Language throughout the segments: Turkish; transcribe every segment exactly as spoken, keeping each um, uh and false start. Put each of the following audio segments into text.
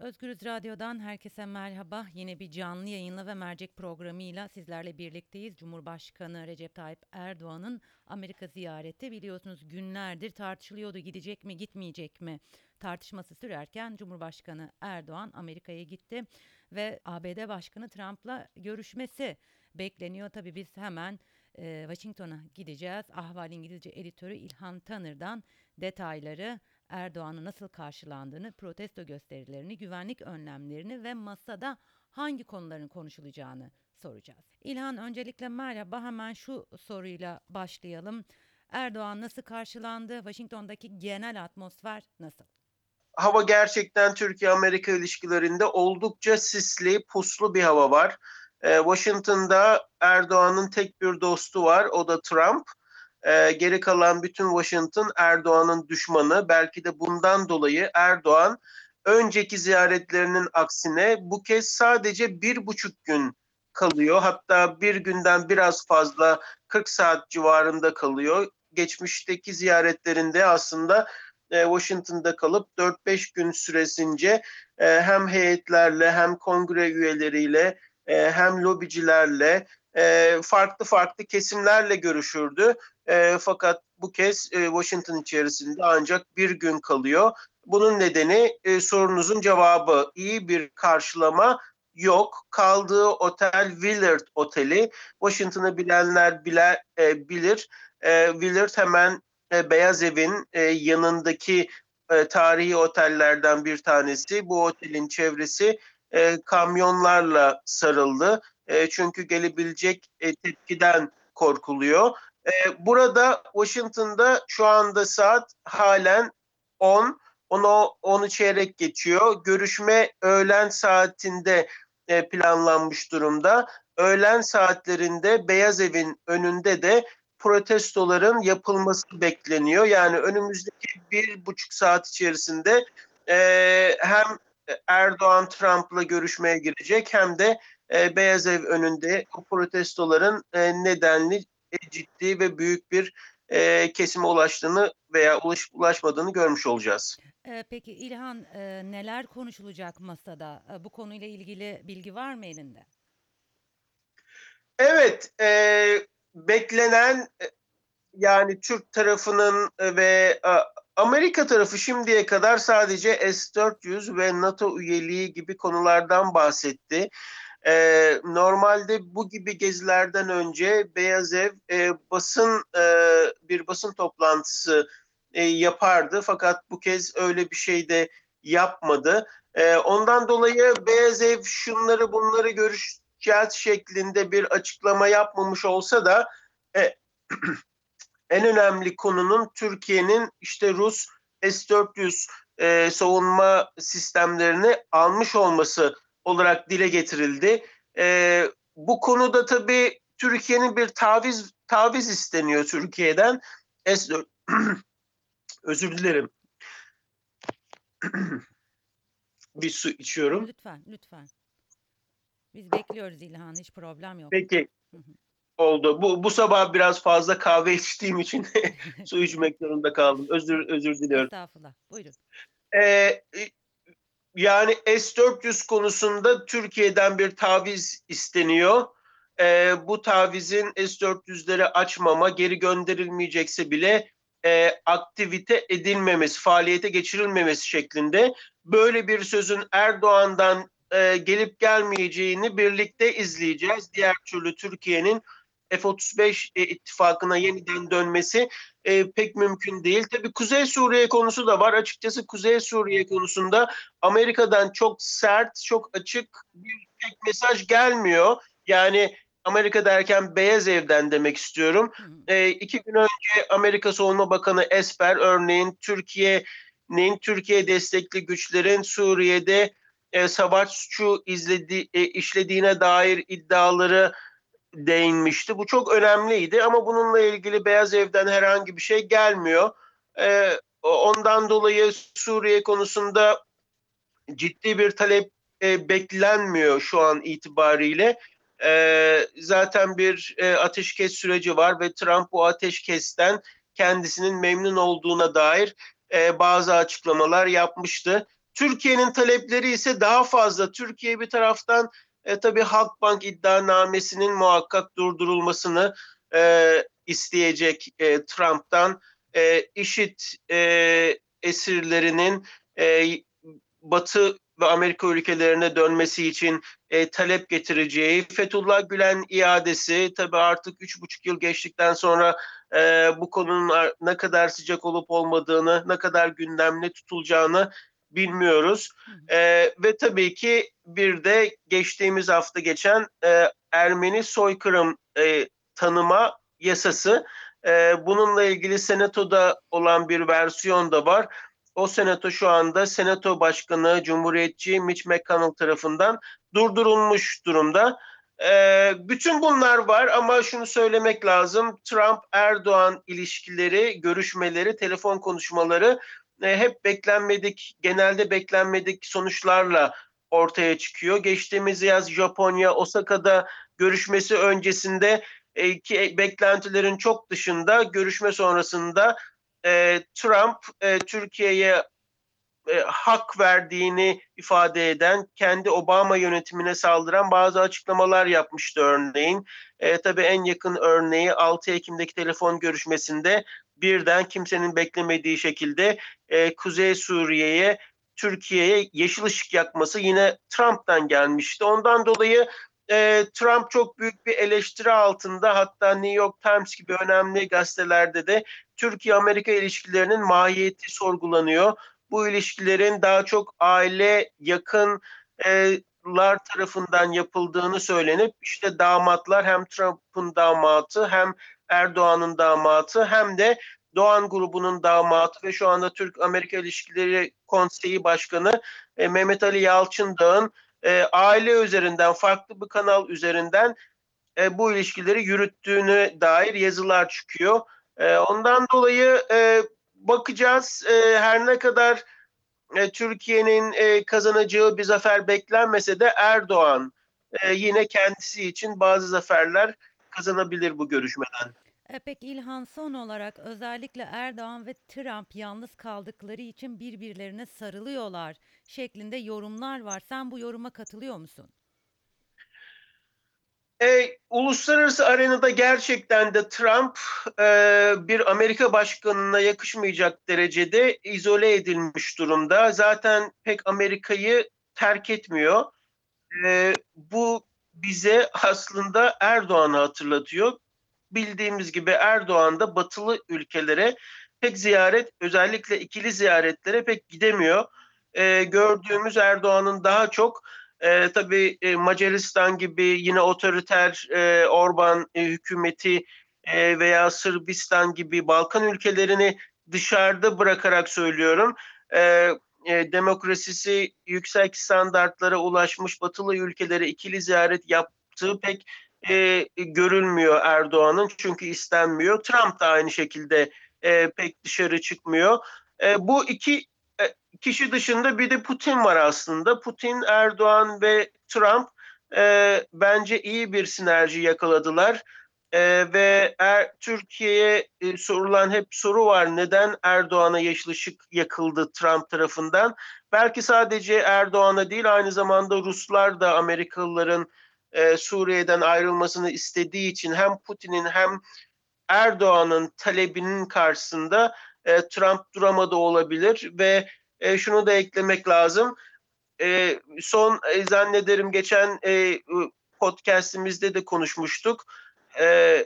Özgürüz Radyo'dan herkese merhaba. Yine bir canlı yayınla ve mercek programıyla sizlerle birlikteyiz. Cumhurbaşkanı Recep Tayyip Erdoğan'ın Amerika ziyareti biliyorsunuz günlerdir tartışılıyordu. Gidecek mi, gitmeyecek mi? Tartışması sürerken Cumhurbaşkanı Erdoğan Amerika'ya gitti ve A B D Başkanı Trump'la görüşmesi bekleniyor. Tabii biz hemen e, Washington'a gideceğiz. Ahval İngilizce editörü İlhan Tanır'dan detayları, Erdoğan'ın nasıl karşılandığını, protesto gösterilerini, güvenlik önlemlerini ve masada hangi konuların konuşulacağını soracağız. İlhan, öncelikle merhaba. Hemen şu soruyla başlayalım. Erdoğan nasıl karşılandı? Washington'daki genel atmosfer nasıl? Hava gerçekten Türkiye-Amerika ilişkilerinde oldukça sisli, puslu bir hava var. Ee, Washington'da Erdoğan'ın tek bir dostu var, o da Trump. Ee, geri kalan bütün Washington Erdoğan'ın düşmanı. Belki de bundan dolayı Erdoğan önceki ziyaretlerinin aksine bu kez sadece bir buçuk gün kalıyor. Hatta bir günden biraz fazla kırk saat civarında kalıyor. Geçmişteki ziyaretlerinde aslında e, Washington'da kalıp dört beş gün süresince e, hem heyetlerle hem kongre üyeleriyle e, hem lobicilerle e, farklı farklı kesimlerle görüşürdü. E, fakat bu kez e, Washington içerisinde ancak bir gün kalıyor. Bunun nedeni e, sorunuzun cevabı, iyi bir karşılama yok. Kaldığı otel Willard Oteli. Washington'ı bilenler bile, e, bilir. E, Willard hemen e, Beyaz Evin e, yanındaki e, tarihi otellerden bir tanesi. Bu otelin çevresi e, kamyonlarla sarıldı. E, çünkü gelebilecek e, tepkiden korkuluyor. E, burada Washington'da şu anda saat halen on, onu onu çeyrek geçiyor. Görüşme öğlen saatinde e, planlanmış durumda. Öğlen saatlerinde Beyaz Evin önünde de protestoların yapılması bekleniyor. Yani önümüzdeki bir buçuk saat içerisinde e, hem Erdoğan Trump'la görüşmeye girecek hem de e, Beyaz Ev önünde o protestoların e, nedenli e, ciddi ve büyük bir e, kesime ulaştığını veya ulaş, ulaşmadığını görmüş olacağız. Ee, peki İlhan, e, neler konuşulacak masada? E, bu konuyla ilgili bilgi var mı elinde? Evet, e, beklenen e, yani Türk tarafının e, ve e, Amerika tarafı şimdiye kadar sadece S dört yüz ve NATO üyeliği gibi konulardan bahsetti. Ee, normalde bu gibi gezilerden önce Beyaz Ev e, basın e, bir basın toplantısı e, yapardı. Fakat bu kez öyle bir şey de yapmadı. E, ondan dolayı Beyaz Ev şunları bunları görüşeceğiz şeklinde bir açıklama yapmamış olsa da e, en önemli konunun Türkiye'nin işte Rus S dört yüz e, savunma sistemlerini almış olması olarak dile getirildi. E, bu konuda tabii Türkiye'nin bir taviz taviz isteniyor Türkiye'den. S dört özür dilerim. Bir su içiyorum. Lütfen, lütfen. Biz bekliyoruz İlhan, hiç problem yok. Peki, oldu. Bu bu sabah biraz fazla kahve içtiğim için su içmek zorunda kaldım. Özür özür diliyorum. Estağfurullah. Buyurun. Ee, Yani S dört yüz konusunda Türkiye'den bir taviz isteniyor. Ee, bu tavizin S dört yüzleri açmama, geri gönderilmeyecekse bile e, aktivite edilmemesi, faaliyete geçirilmemesi şeklinde. Böyle bir sözün Erdoğan'dan e, gelip gelmeyeceğini birlikte izleyeceğiz. Diğer türlü Türkiye'nin F otuz beş e, ittifakına yeniden dönmesi e, pek mümkün değil. Tabii Kuzey Suriye konusu da var. Açıkçası Kuzey Suriye konusunda Amerika'dan çok sert, çok açık bir tek mesaj gelmiyor. Yani Amerika derken Beyaz Ev'den demek istiyorum. Hı hı. E, iki gün önce Amerika Savunma Bakanı Esper örneğin Türkiye'nin, Türkiye destekli güçlerin Suriye'de e, savaş suçu izledi, e, işlediğine dair iddiaları değinmişti. Bu çok önemliydi ama bununla ilgili Beyaz Ev'den herhangi bir şey gelmiyor. E, ondan dolayı Suriye konusunda ciddi bir talep e, beklenmiyor şu an itibariyle. E, zaten bir e, ateşkes süreci var ve Trump bu ateşkesten kendisinin memnun olduğuna dair e, bazı açıklamalar yapmıştı. Türkiye'nin talepleri ise daha fazla. Türkiye bir taraftan e, tabii Halkbank iddianamesinin muhakkak durdurulmasını e, isteyecek e, Trump'tan. E, IŞİD e, esirlerinin e, Batı ve Amerika ülkelerine dönmesi için e, talep getireceği, Fethullah Gülen iadesi, tabii artık üç buçuk yıl geçtikten sonra e, bu konunun ne kadar sıcak olup olmadığını, ne kadar gündemde tutulacağını bilmiyoruz. Hı hı. E, ve tabii ki bir de geçtiğimiz hafta geçen e, Ermeni soykırım e, tanıma yasası. E, bununla ilgili Senato'da olan bir versiyon da var. O senato şu anda Senato Başkanı Cumhuriyetçi Mitch McConnell tarafından durdurulmuş durumda. Ee, bütün bunlar var ama şunu söylemek lazım. Trump-Erdoğan ilişkileri, görüşmeleri, telefon konuşmaları e, hep beklenmedik, genelde beklenmedik sonuçlarla ortaya çıkıyor. Geçtiğimiz yaz Japonya, Osaka'da görüşmesi öncesinde e, ki beklentilerin çok dışında görüşme sonrasında e, Trump e, Türkiye'ye e, hak verdiğini ifade eden, kendi Obama yönetimine saldıran bazı açıklamalar yapmıştı örneğin. E, tabii en yakın örneği altı Ekim'deki telefon görüşmesinde birden kimsenin beklemediği şekilde e, Kuzey Suriye'ye, Türkiye'ye yeşil ışık yakması yine Trump'tan gelmişti. Ondan dolayı e, Trump çok büyük bir eleştiri altında, hatta New York Times gibi önemli gazetelerde de Türkiye-Amerika ilişkilerinin mahiyeti sorgulanıyor. Bu ilişkilerin daha çok aile yakınlar tarafından yapıldığını söylenip işte damatlar hem Trump'ın damatı hem Erdoğan'ın damatı hem de Doğan grubunun damatı ve şu anda Türk-Amerika İlişkileri Konseyi Başkanı e, Mehmet Ali Yalçındağ'ın e, aile üzerinden, farklı bir kanal üzerinden e, bu ilişkileri yürüttüğüne dair yazılar çıkıyor. E, ondan dolayı e, bakacağız. E, her ne kadar e, Türkiye'nin e, kazanacağı bir zafer beklenmese de Erdoğan e, yine kendisi için bazı zaferler kazanabilir bu görüşmeden. E, peki İlhan, son olarak özellikle Erdoğan ve Trump yalnız kaldıkları için birbirlerine sarılıyorlar şeklinde yorumlar var. Sen bu yoruma katılıyor musun? E, uluslararası arenada gerçekten de Trump e, bir Amerika başkanına yakışmayacak derecede izole edilmiş durumda. Zaten pek Amerika'yı terk etmiyor. E, bu bize aslında Erdoğan'ı hatırlatıyor. Bildiğimiz gibi Erdoğan da batılı ülkelere pek ziyaret, özellikle ikili ziyaretlere pek gidemiyor. E, gördüğümüz Erdoğan'ın daha çok e, tabii e, Macaristan gibi yine otoriter e, Orban e, hükümeti e, veya Sırbistan gibi Balkan ülkelerini dışarıda bırakarak söylüyorum. E, e, demokrasisi yüksek standartlara ulaşmış batılı ülkelere ikili ziyaret yaptığı pek e, görülmüyor Erdoğan'ın, çünkü istenmiyor. Trump da aynı şekilde e, pek dışarı çıkmıyor. E, bu iki e, kişi dışında bir de Putin var aslında. Putin, Erdoğan ve Trump e, bence iyi bir sinerji yakaladılar. E, ve er, Türkiye'ye e, sorulan hep soru var. Neden Erdoğan'a yeşil ışık yakıldı Trump tarafından? Belki sadece Erdoğan'a değil, aynı zamanda Ruslar da Amerikalıların e, Suriye'den ayrılmasını istediği için hem Putin'in hem Erdoğan'ın talebinin karşısında e, Trump duramadı olabilir ve e, şunu da eklemek lazım. E, son e, zannederim geçen e, podcastimizde de konuşmuştuk. E,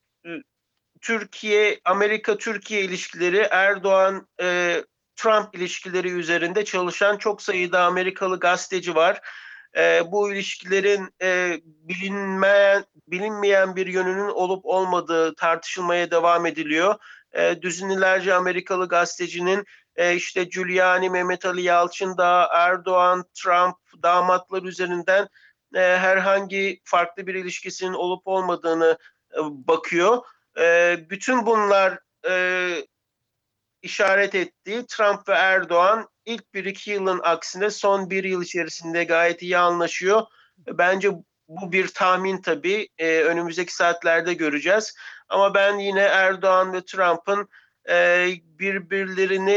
Türkiye, Amerika-Türkiye ilişkileri, Erdoğan e, Trump ilişkileri üzerinde çalışan çok sayıda Amerikalı gazeteci var. E, bu ilişkilerin e, bilinmeyen, bilinmeyen bir yönünün olup olmadığı tartışılmaya devam ediliyor. E, düzinelerce Amerikalı gazetecinin e, işte Giuliani, Mehmet Ali Yalçındağ, Erdoğan, Trump, damatlar üzerinden e, herhangi farklı bir ilişkisinin olup olmadığını e, bakıyor. E, bütün bunlar e, işaret ettiği Trump ve Erdoğan ilk bir iki yılın aksine son bir yıl içerisinde gayet iyi anlaşıyor. Bence bu bir tahmin tabii. E, önümüzdeki saatlerde göreceğiz. Ama ben yine Erdoğan ve Trump'ın e, birbirlerini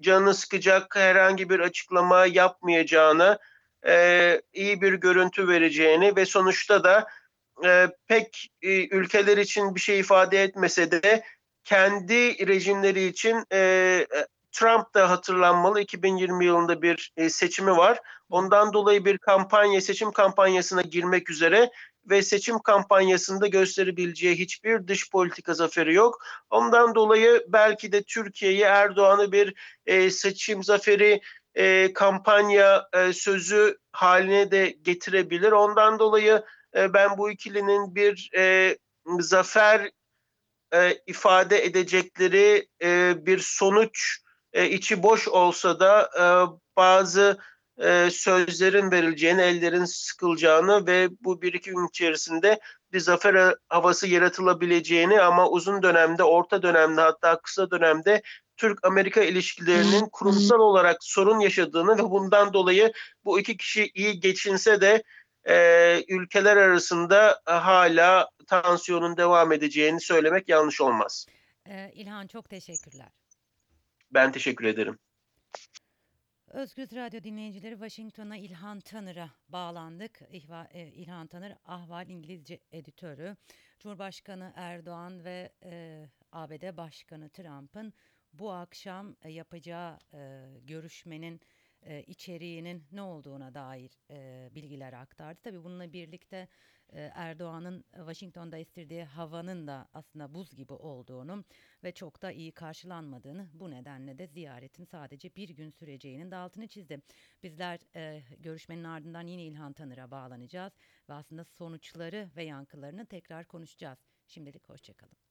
canını sıkacak herhangi bir açıklama yapmayacağını, e, iyi bir görüntü vereceğini ve sonuçta da e, pek e, ülkeler için bir şey ifade etmese de kendi rejimleri için e, Trump da hatırlanmalı. iki bin yirmi yılında bir e, seçimi var. Ondan dolayı bir kampanya, seçim kampanyasına girmek üzere ve seçim kampanyasında gösterebileceği hiçbir dış politika zaferi yok. Ondan dolayı belki de Türkiye'yi, Erdoğan'ı bir e, seçim zaferi e, kampanya e, sözü haline de getirebilir. Ondan dolayı e, ben bu ikilinin bir e, zafer e, ifade edecekleri e, bir sonuç e, içi boş olsa da e, bazı e, sözlerin verileceğini, ellerin sıkılacağını ve bu bir iki gün içerisinde bir zafer havası yaratılabileceğini ama uzun dönemde, orta dönemde hatta kısa dönemde Türk-Amerika ilişkilerinin kurumsal olarak sorun yaşadığını ve bundan dolayı bu iki kişi iyi geçinse de e, ülkeler arasında hala tansiyonun devam edeceğini söylemek yanlış olmaz. Ee, İlhan, çok teşekkürler. Ben teşekkür ederim. Özgür Radyo dinleyicileri, Washington'a İlhan Tanır'a bağlandık. İhva, e, İlhan Tanır, Ahval İngilizce editörü. Cumhurbaşkanı Erdoğan ve e, A B D Başkanı Trump'ın bu akşam e, yapacağı e, görüşmenin e, içeriğinin ne olduğuna dair e, bilgiler aktardı. Tabii bununla birlikte e, Erdoğan'ın Washington'da istirdiği havanın da aslında buz gibi olduğunu ve çok da iyi karşılanmadığını, bu nedenle de ziyaretin sadece bir gün süreceğinin de altını çizdi. Bizler e, görüşmenin ardından yine İlhan Tanır'a bağlanacağız ve aslında sonuçları ve yankılarını tekrar konuşacağız. Şimdilik hoşçakalın.